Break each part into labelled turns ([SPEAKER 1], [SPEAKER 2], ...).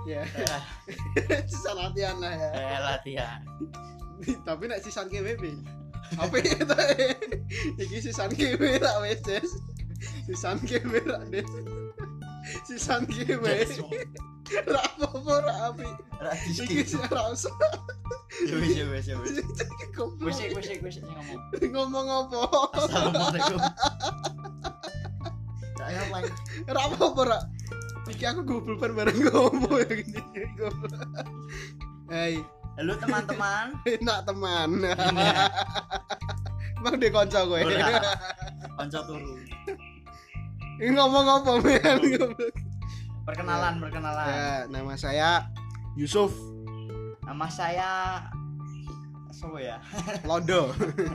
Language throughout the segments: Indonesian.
[SPEAKER 1] Ya. Sisan latihan lah ya.
[SPEAKER 2] Latihan.
[SPEAKER 1] Tapi nek sisan KWB. Apa itu? Iki sisan KW ra wis, Des. Sisan KW ra, Des. Sisan KW. Ra apa-apa ra apik.
[SPEAKER 2] Ra
[SPEAKER 1] Iki sih ra usah.
[SPEAKER 2] Ya wis.
[SPEAKER 1] Goblok.
[SPEAKER 2] Wis ngomong.
[SPEAKER 1] Ngomong apa?
[SPEAKER 2] Assalamualaikum. Ya apa?
[SPEAKER 1] Ra apa-apa ra. Iki aku goblok bareng ngomong ya gini. Goblok. Hai,
[SPEAKER 2] Halo teman-teman.
[SPEAKER 1] enak teman. Emang dia konco kowe.
[SPEAKER 2] Konco turu.
[SPEAKER 1] Ini ngomong apa men?
[SPEAKER 2] Perkenalan.
[SPEAKER 1] Ya, nama saya Yusuf
[SPEAKER 2] Nama saya siapa ya?
[SPEAKER 1] Londo.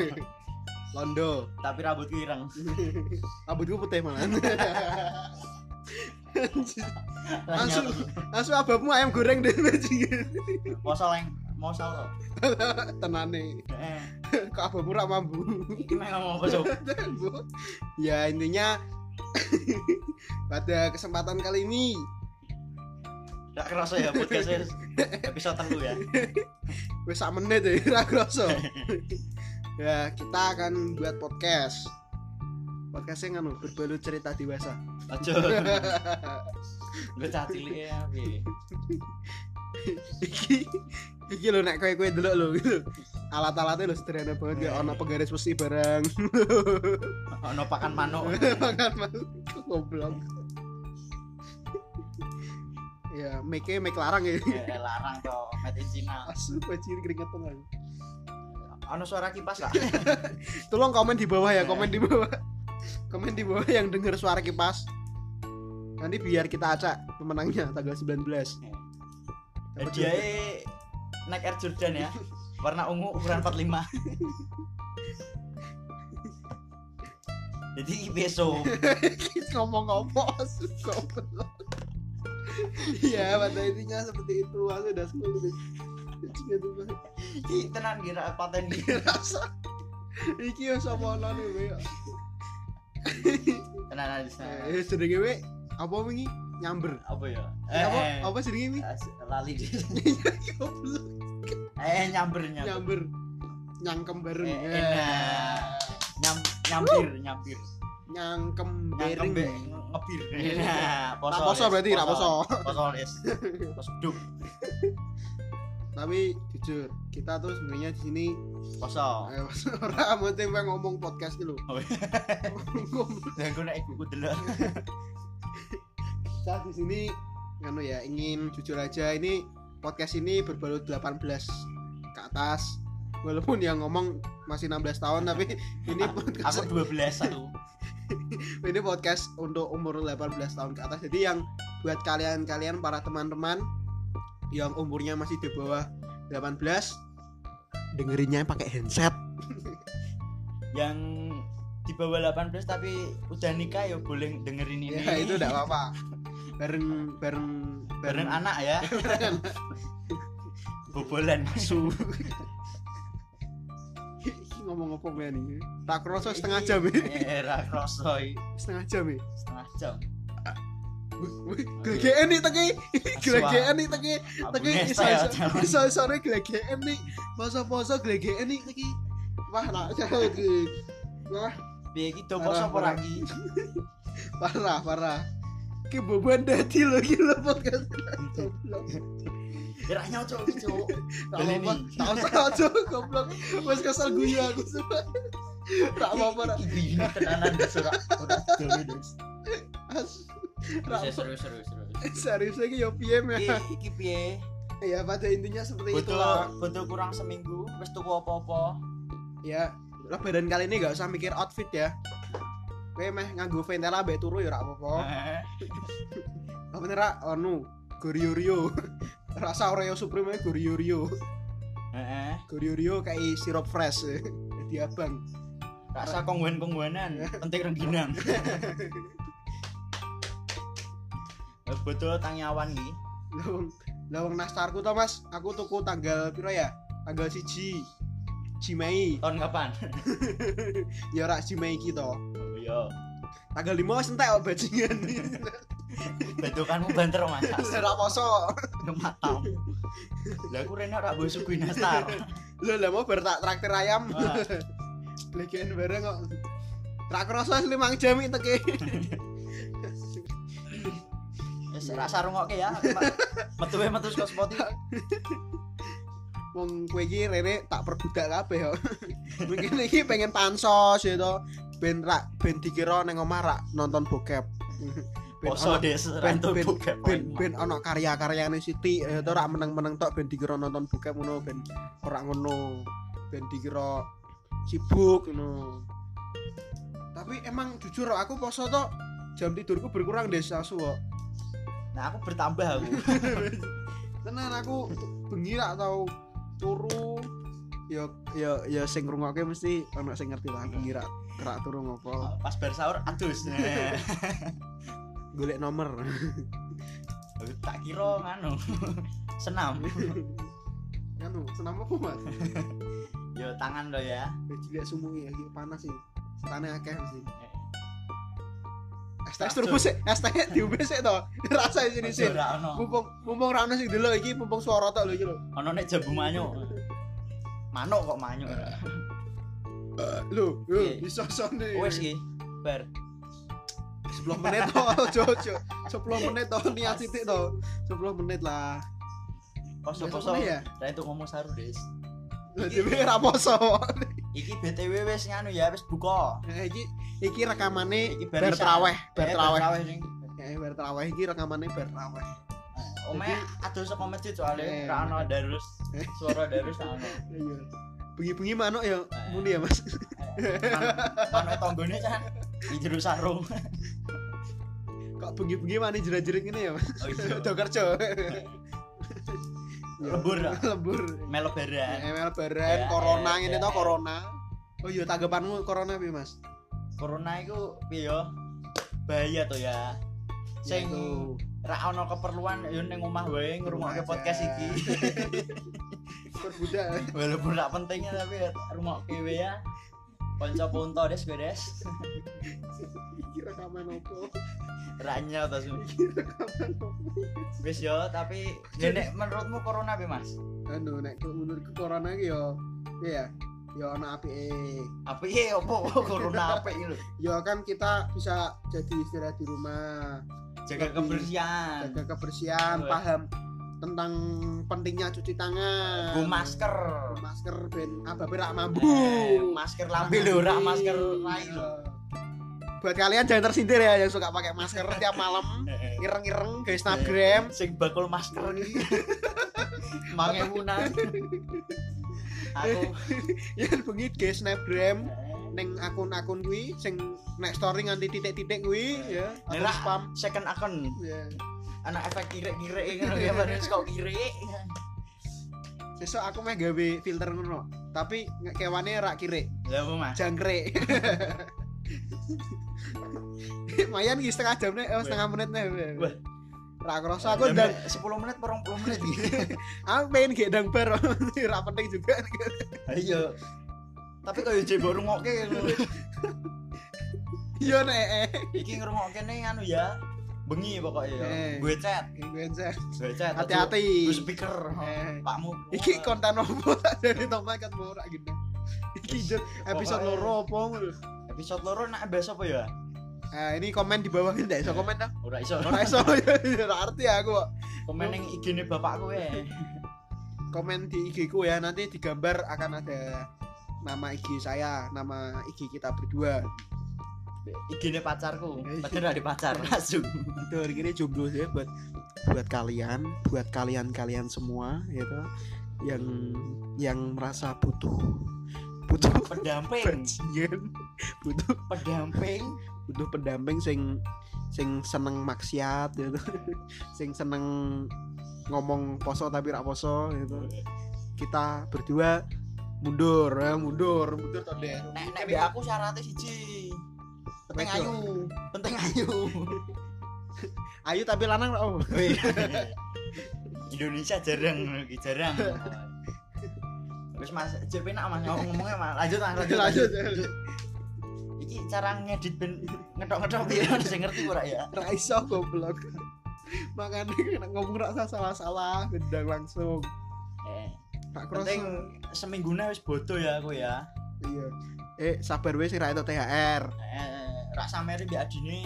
[SPEAKER 2] Tapi rambutku ireng.
[SPEAKER 1] Rambutku putih malah. Langsung ababmu ayam goreng deh bajingan.
[SPEAKER 2] Mau ora?
[SPEAKER 1] Tenane. Kok ababmu rak mambu.
[SPEAKER 2] Iki meh ngomong apa, Sob?
[SPEAKER 1] Ya intinya pada kesempatan kali ini
[SPEAKER 2] Gak kerasa ya podcast episode 3 ya.
[SPEAKER 1] wis sak menit ya ra kroso. Ya, kita akan buat podcast. Podcastnya kan berbalut cerita dewasa.
[SPEAKER 2] Aja. Gue cah cilik ya, piye.
[SPEAKER 1] Iki lho nek kowe delok lho gitu. Alat-alatnya lho sederhana banget ya, ono penggaris besi barang.
[SPEAKER 2] Ono pakan manuk.
[SPEAKER 1] Makan manuk goblok. Ya, make larang ya.
[SPEAKER 2] Ya larang to, made in China.
[SPEAKER 1] Asu bajir keringetan aku.
[SPEAKER 2] Ono suara kipas gak?
[SPEAKER 1] Tolong komen di bawah ya, komen di bawah. Komen di bawah yang dengar suara kipas. Nanti biar kita acak pemenangnya tanggal 19.
[SPEAKER 2] Hadiahnya Nike Air Jordan ya. Warna ungu ukuran 45. Jadi peso.
[SPEAKER 1] Ngomong apa asu goblok. Iya, pada intinya seperti itu. Aku udah sepuluh.
[SPEAKER 2] Iki tenan kira paten iki.
[SPEAKER 1] Rasa. Iki yo sapa ono ne.
[SPEAKER 2] Tenan aja.
[SPEAKER 1] Jenenge we apa wingi? Nyamber.
[SPEAKER 2] Apa ya?
[SPEAKER 1] Apa jenenge wi?
[SPEAKER 2] Lali di.
[SPEAKER 1] Goblok.
[SPEAKER 2] Nyamber.
[SPEAKER 1] Nyangkem bareng.
[SPEAKER 2] Nyampir.
[SPEAKER 1] Nyangkem bareng.
[SPEAKER 2] Ngebir.
[SPEAKER 1] Nah, poso berarti ra poso.
[SPEAKER 2] Poso les. Poso duk.
[SPEAKER 1] Tapi jujur, kita tuh sebenarnya di sini
[SPEAKER 2] Poso.
[SPEAKER 1] Ora penting ngomong podcast ki lho.
[SPEAKER 2] Dan gue nek ibuku delok.
[SPEAKER 1] Kita di sini ngono ya, ingin jujur aja ini podcast ini berbalut 18 ke atas. Walaupun yang ngomong masih 16 tahun tapi ini podcast
[SPEAKER 2] aku 12 aku.
[SPEAKER 1] Ini podcast untuk umur 18 tahun ke atas. Jadi yang buat kalian para teman-teman yang umurnya masih di bawah 18 dengerinnya pakai handset.
[SPEAKER 2] Yang di bawah 18 tapi udah nikah ya boleh dengerin ini.
[SPEAKER 1] Ya itu enggak apa-apa. Bareng
[SPEAKER 2] anak ya. Bobolan asu.
[SPEAKER 1] Iki ngomong apa men iki? Tak kroso setengah jam ya.
[SPEAKER 2] Ra kroso
[SPEAKER 1] Setengah jam ya.
[SPEAKER 2] setengah jam.
[SPEAKER 1] Glegeken nih teki. Glegeken nih teki. Iso-isone glegeken nih. Poso-poso glegeken nih teki. Wah, nak jauh iki. Wah,
[SPEAKER 2] Piye iki do poso apa lagi?
[SPEAKER 1] Parah. Ki beban dadi lho iki lho podcast. Goblok.
[SPEAKER 2] Ra nyocok iki, Cuk.
[SPEAKER 1] Tak usah goblok. Wes kesel guyu aku semua. Tak apa-apa.
[SPEAKER 2] Iki tenanan surat dhewe, Des. Serius.
[SPEAKER 1] Serius lagi yo piye meh.
[SPEAKER 2] Iki piye?
[SPEAKER 1] Ya pada intinya seperti itulah.
[SPEAKER 2] Butuh kurang seminggu wis tuku apa-apa.
[SPEAKER 1] Ya, lebaran kali ini gak usah mikir outfit ya. Kowe meh nganggo Ventela mbek turu ya ora apa-apa. Apa nek anu Gorio. Rasa Oreo Supreme Gorio.
[SPEAKER 2] Heeh.
[SPEAKER 1] Gorio kayak sirup fresh. Jadi abang.
[SPEAKER 2] Rasa kongguan-kongguanan, penting rengginang. Betul tangyawan iki.
[SPEAKER 1] Lawang nastarku to Mas, aku tuku tanggal piro ya? Tanggal 1 Mei.
[SPEAKER 2] Tahun kapan?
[SPEAKER 1] Ya ora Mei iki to.
[SPEAKER 2] Oh iya.
[SPEAKER 1] Tanggal 5 wis entek kok bajingan.
[SPEAKER 2] Bedokanmu banter Mas.
[SPEAKER 1] Ora poso.
[SPEAKER 2] Matamu. Lah aku rene ora mbok suguhi nastar.
[SPEAKER 1] Lho lah mau bar tak traktir ayam.
[SPEAKER 2] Wah.
[SPEAKER 1] Blegean bareng kok. Ra kroso 5 jam iki teke.
[SPEAKER 2] Wis rasa rungokke ya. Metu saka Spotify.
[SPEAKER 1] Wong kowe iki rene tak perbudak kabeh yo. Mungkin iki pengen pansos ya to. Ben dikira ning omah rak nonton bokep.
[SPEAKER 2] Poso des rantu bokep.
[SPEAKER 1] Ben ana karya-karyane Siti ya to rak meneng-meneng tok ben dikira nonton bokep ngono ben ora ngono. Ben dikira sibuk ngono. Tapi emang jujur aku poso tok jam tidurku berkurang des asu kok.
[SPEAKER 2] Nah aku bertambah aku.
[SPEAKER 1] Tenan aku bengi rak tau turu ya sing ngrungokke mesti ana sing ngerti lah bengi rak turu ngopo.
[SPEAKER 2] Pas bar sahur adus.
[SPEAKER 1] Golek nomor.
[SPEAKER 2] Tak kira nganu. Senam.
[SPEAKER 1] Anu, senam apa, Mas?
[SPEAKER 2] Yo tangan lo ya.
[SPEAKER 1] Jilik sumungi iki panas sih. Setane akeh mesti. Es teh
[SPEAKER 2] Cacuk.
[SPEAKER 1] turbo sik, es teh diombe sik to. Rasa sini sih.
[SPEAKER 2] Ora ono.
[SPEAKER 1] Mumpung ra ono sing delok iki mumpung swara tok lho iki lho.
[SPEAKER 2] Ono nek jambu manyuk. Manuk kok manyuk.
[SPEAKER 1] Lho,
[SPEAKER 2] Iya.
[SPEAKER 1] iso-isone.
[SPEAKER 2] Wes iki bar.
[SPEAKER 1] 10 menit to, Jojo. 10 menit to niat sithik to. 10 menit lah.
[SPEAKER 2] Poso-poso.
[SPEAKER 1] Ya?
[SPEAKER 2] Lah itu ngomong saru, Des.
[SPEAKER 1] Lah dhewe ra poso.
[SPEAKER 2] Iki BTW wis nganu ya, wis buka.
[SPEAKER 1] Iki rekamane
[SPEAKER 2] Iki
[SPEAKER 1] bar
[SPEAKER 2] barisan.
[SPEAKER 1] traweh, bar
[SPEAKER 2] Eh,
[SPEAKER 1] traweh.
[SPEAKER 2] ning.
[SPEAKER 1] Bar traweh iki rekamane bar traweh.
[SPEAKER 2] Ome aduh saka masjid soalnya
[SPEAKER 1] Eh.
[SPEAKER 2] ra ono darus. Suara darus ra ono.
[SPEAKER 1] Iya. Bengi-bengi manuk ya muni ya, Mas.
[SPEAKER 2] Manuk tanggane kan di jero sarung.
[SPEAKER 1] Kok bengi-bengi mani jerat-jerit ngene ya, Mas.
[SPEAKER 2] Oh iya.
[SPEAKER 1] Do kerja.
[SPEAKER 2] Lembur.
[SPEAKER 1] Lembur.
[SPEAKER 2] Melo baran.
[SPEAKER 1] Emel baran corona ngene to
[SPEAKER 2] eh.
[SPEAKER 1] corona. Oh iya tanggapanmu corona piye, Mas?
[SPEAKER 2] Corona iku piye ya? Bahaya to ya. Sing
[SPEAKER 1] Yaitu.
[SPEAKER 2] ra ono keperluan yo ning omah wae ngrungokke
[SPEAKER 1] Aja.
[SPEAKER 2] podcast iki.
[SPEAKER 1] Perbudak.
[SPEAKER 2] Walaupun gak pentingnya tapi ngrungokke wae ya. Kanca ponto des beres.
[SPEAKER 1] Iki rekaman opo?
[SPEAKER 2] Ranya to su.
[SPEAKER 1] Iki rekaman opo?
[SPEAKER 2] Wis yo tapi nek menurutmu corona piye Mas?
[SPEAKER 1] Anu nek menurutku corona iki yo iya ya ana apike.
[SPEAKER 2] Apike opo corona apik iki lho.
[SPEAKER 1] Ya kan kita bisa jadi istirahat di rumah,
[SPEAKER 2] Jaga kebersihan.
[SPEAKER 1] jaga kebersihan,
[SPEAKER 2] Oh, ya.
[SPEAKER 1] paham tentang pentingnya cuci tangan.
[SPEAKER 2] Go masker.
[SPEAKER 1] Masker ben ababe rak mambu.
[SPEAKER 2] Masker lambe lho, ora masker lain lho.
[SPEAKER 1] Buat kalian jangan tersindir ya yang suka pakai masker tiap malam, ireng-ireng ke Instagram.
[SPEAKER 2] Sing bakul masker iki. Mangemunan. Aku
[SPEAKER 1] Ya bengi ke Snapgram ning akun-akun kuwi sing nek story nganti titik-titik kuwi ya, atau
[SPEAKER 2] Ora
[SPEAKER 1] spam.
[SPEAKER 2] second account.
[SPEAKER 1] Ya.
[SPEAKER 2] Ana efek kirek-kirek ngono ya baris kok kirek.
[SPEAKER 1] Sesuk aku meh gawe filter ngono, tapi kewane rak kirik,
[SPEAKER 2] Lah apa Mas?
[SPEAKER 1] jangkrik. Mayan iki setengah jam nih, setengah menit nih.
[SPEAKER 2] Wah.
[SPEAKER 1] Rak kerasa aku ndang
[SPEAKER 2] 10 menit 20 menit iki.
[SPEAKER 1] aku pengen gendang bar. Ora penting juga.
[SPEAKER 2] Ayo. Tapi koyo jebok rungokke ngono.
[SPEAKER 1] Iya nek.
[SPEAKER 2] Iki ngrungokke ning anu ya. Bengi pokoknya ya. Gue chat.
[SPEAKER 1] Gue chat.
[SPEAKER 2] Gue chat.
[SPEAKER 1] Hati-hati.
[SPEAKER 2] Gue speaker. Pakmu.
[SPEAKER 1] Iki konten opo tak dari tomat kan mau rak gini. Iki episode loro opo ngono.
[SPEAKER 2] Episode loro nak bahas apa ya?
[SPEAKER 1] Nah, ini komen di bawah ini ndak iso komen dah.
[SPEAKER 2] Ora iso.
[SPEAKER 1] Ora iso. Ora arti aku kok.
[SPEAKER 2] Komen ning IG-ne bapakku ya.
[SPEAKER 1] Komen di IG ku ya, nanti digambar akan ada nama IG saya, nama IG kita berdua.
[SPEAKER 2] IG-ne pacarku. Padahal ada pacar langsung.
[SPEAKER 1] Itu gini jomblo ya buat kalian semua gitu yang merasa butuh
[SPEAKER 2] pendamping.
[SPEAKER 1] bajingan, butuh pendamping sing seneng maksiat gitu. Sing seneng ngomong poso tapi rak poso gitu. Kita berdua mundur to deh.
[SPEAKER 2] Nek aku syaratnya siji. Penting ayu.
[SPEAKER 1] Ayu tapi lanang oh.
[SPEAKER 2] Indonesia jarang. Wis Mas, jep enak Mas ngomongnya Mas. Lanjut.
[SPEAKER 1] Lanjut.
[SPEAKER 2] iki cara ngedit ben ngethok-ngethok piye sing ngerti ora ya.
[SPEAKER 1] Ra iso goblok. Makane nek ngomong ra salah-salah gendang langsung. Tak kroso.
[SPEAKER 2] Penting seminggune wis bodo ya aku ya.
[SPEAKER 1] Iya. Sabar wis sing ra entuk THR.
[SPEAKER 2] Rak sameri mbek adine.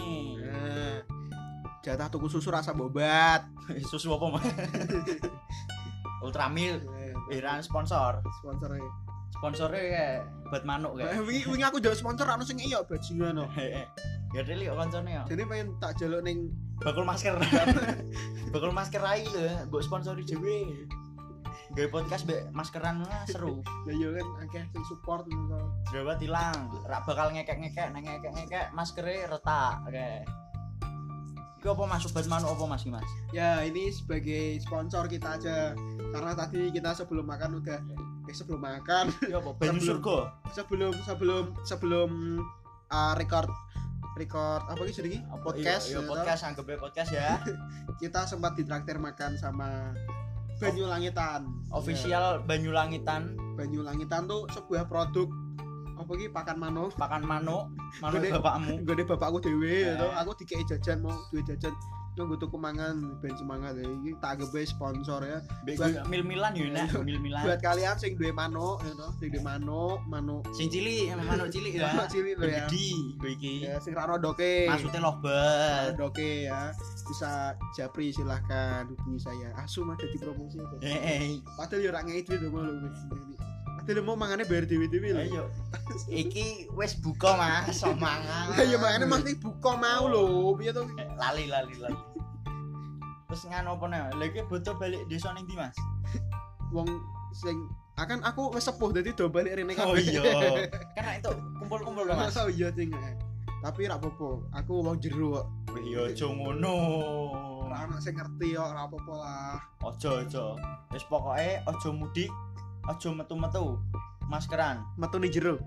[SPEAKER 1] Jatah tuku susu rasa bobat.
[SPEAKER 2] Susu apa mah? Ultramilk. Iran sponsor. Sponsornya buat manuk kayak.
[SPEAKER 1] Wingi aku njaluk sponsor ana sing iya bajingan no.
[SPEAKER 2] Ya deli kok kancane ya.
[SPEAKER 1] Jadi pengen tak jaluk ning
[SPEAKER 2] bakul masker. Bakul masker rai lho, mbok sponsori dhewe. Gawe podcast mbek maskeran seru.
[SPEAKER 1] Ya yo kan akeh sing support ngono.
[SPEAKER 2] Jerawat ilang, rak bakal ngekek-ngekek, nang ngekek-ngekek maskere retak. Oke. Iki apa Mas sobat manuk apa Mas iki Mas?
[SPEAKER 1] Ya, ini sebagai sponsor kita aja. Karena tadi kita sebelum makan udah sebelum makan.
[SPEAKER 2] Ya apa banyu surga.
[SPEAKER 1] Sebelum record apa sih jenenge? Podcast.
[SPEAKER 2] Iya, podcast anggap podcast ya.
[SPEAKER 1] Kita sempat ditraktir makan sama Banyu Langitan.
[SPEAKER 2] Official Banyu Langitan.
[SPEAKER 1] Banyu Langitan tuh sebuah produk apa iki pakan manuk bapakmu. Gede bapakku dhewe to. Aku dikei jajan mau duwe jajan. Nunggu tuku mangan ben semangat iki tak anggap sponsor ya.
[SPEAKER 2] Mil-milan yo nek mil-milan.
[SPEAKER 1] Buat kalian sing duwe manuk ya to, sing duwe manuk
[SPEAKER 2] sing cilik, manuk cilik ya.
[SPEAKER 1] Manuk cilik lho ya.
[SPEAKER 2] Gede kowe iki.
[SPEAKER 1] Ya sing ra rodoke.
[SPEAKER 2] Maksudnya lobat.
[SPEAKER 1] Rodoke ya. Bisa japri silahkan hubungi saya. Asu mah dadi promosi. Padahal yo ora ngei duit lho lho. Padahal mau mangane bayar dhewe-dhewe lho.
[SPEAKER 2] Ayo. Iki wis buka Mas, so mangan.
[SPEAKER 1] Lah ya mangane mesti buka mau lho. Piye to?
[SPEAKER 2] Lali. Terus ngano apa nih? Lagi butuh balik desa ning ndi Mas?
[SPEAKER 1] Wong sing akan aku wis sepuh dadi do balik rene kabeh.
[SPEAKER 2] Oh iya. Karena itu kumpul-kumpul Mas.
[SPEAKER 1] Oh iya ting. Tapi ra apa-apa, aku wong jero kok.
[SPEAKER 2] Iya aja ngono.
[SPEAKER 1] Ora ana sing ngerti kok, ora apa-apa lah.
[SPEAKER 2] Aja. Wis pokoke aja mudik, aja metu-metu. Maskeran.
[SPEAKER 1] Metu ning jero.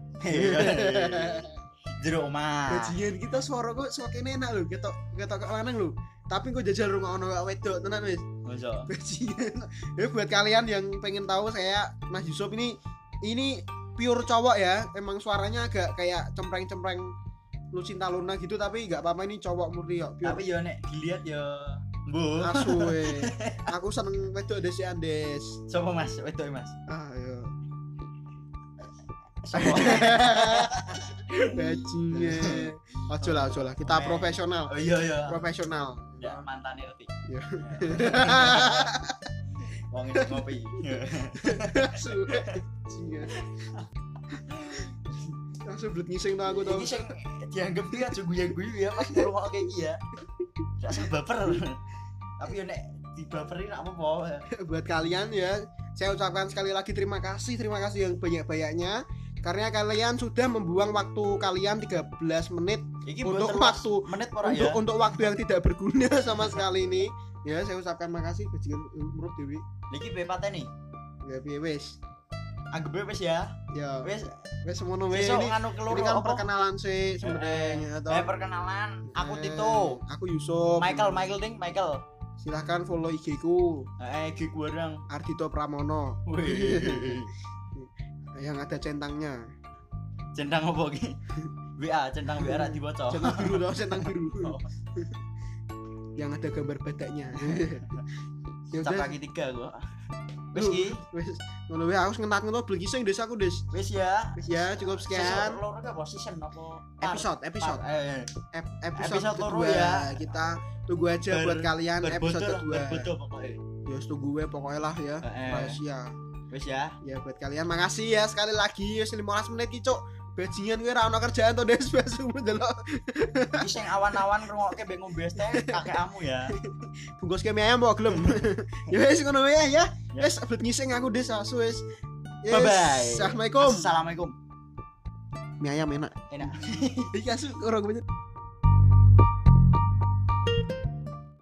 [SPEAKER 2] Jero omah.
[SPEAKER 1] Bajingan kita suara kok semakin enak lho, ketok lanang lho. Tapi kok jajal rungokno kok wedok tenan wis.
[SPEAKER 2] Masa.
[SPEAKER 1] Bajingan. Ya buat kalian yang pengen tahu saya Mas Yusuf ini pure cowok ya. Emang suaranya agak kayak cempreng-cempreng Lucinta Luna gitu tapi enggak apa-apa ini cowok murni kok.
[SPEAKER 2] Tapi ya nek dilihat ya mbuh.
[SPEAKER 1] Asu we. Aku seneng wedok desi Andes.
[SPEAKER 2] Sopo Mas? Wedok Mas.
[SPEAKER 1] Iya.
[SPEAKER 2] Sopo?
[SPEAKER 1] Bajingan. Ojo lah. Kita profesional.
[SPEAKER 2] Oh iya.
[SPEAKER 1] Profesional.
[SPEAKER 2] Ya mantane reti.
[SPEAKER 1] Iya.
[SPEAKER 2] Wong iki ngopi.
[SPEAKER 1] Asu. Bajingan. Langsung blet ngising to aku to.
[SPEAKER 2] Iki sing dianggep iki aja guyu-guyu ya Mas ngrungok kayak iki ya. Gak usah baper. Tapi yo nek dibaperi rak apa-apa. Buat
[SPEAKER 1] kalian ya, saya ucapkan sekali lagi terima kasih yang banyak-banyaknya karena kalian sudah membuang waktu kalian 13 menit
[SPEAKER 2] iki
[SPEAKER 1] untuk waktu yang tidak berguna sama sekali ini. Ya, saya ucapkan makasih bajingan menurut Dewi.
[SPEAKER 2] Niki piye pateni?
[SPEAKER 1] Ya piye wis.
[SPEAKER 2] Anggap wis ya.
[SPEAKER 1] Ya.
[SPEAKER 2] Wis
[SPEAKER 1] semono wis ini. Ini kan perkenalan sih sebenarnya atau
[SPEAKER 2] perkenalan. Aku Tito.
[SPEAKER 1] Aku Yusuf.
[SPEAKER 2] Michael.
[SPEAKER 1] Silahkan follow IG ku.
[SPEAKER 2] IG ku bareng
[SPEAKER 1] Ardito Pramono.
[SPEAKER 2] Wih.
[SPEAKER 1] Yang ada centangnya.
[SPEAKER 2] Centang apa iki? WA, centang WA ra diwaca.
[SPEAKER 1] Centang biru. Yang ada gambar badaknya.
[SPEAKER 2] Ya udah lagi 3 kok. Wis iki.
[SPEAKER 1] Wis ngono wae aku ngentat-ngentot beli sing desaku, Des.
[SPEAKER 2] Wis ya.
[SPEAKER 1] Cukup sekian.
[SPEAKER 2] Loro apa season apa?
[SPEAKER 1] Episode. Episode
[SPEAKER 2] loro ya.
[SPEAKER 1] Kita tunggu aja buat kalian episode kedua.
[SPEAKER 2] Berbodo pokoknya.
[SPEAKER 1] Ya tunggu wae pokoknya lah ya. Rahasia.
[SPEAKER 2] Wis ya.
[SPEAKER 1] Ya buat kalian makasih ya sekali lagi wis 15 menit ki, Cuk. Bajingan kowe ra ono kerjaan to, Des, besok ndelok.
[SPEAKER 2] Iki sing awan-awan ngrungokke mbek ngombe es teh kakekmu ya.
[SPEAKER 1] Bungkus ke mie ayam mbok gelem. Ya wis ngono wae ya. Wis abet ngising aku, Des, asu wis.
[SPEAKER 2] Bye bye.
[SPEAKER 1] Assalamualaikum.
[SPEAKER 2] Assalamualaikum.
[SPEAKER 1] Mie ayam enak.
[SPEAKER 2] Enak.
[SPEAKER 1] Iki asu orang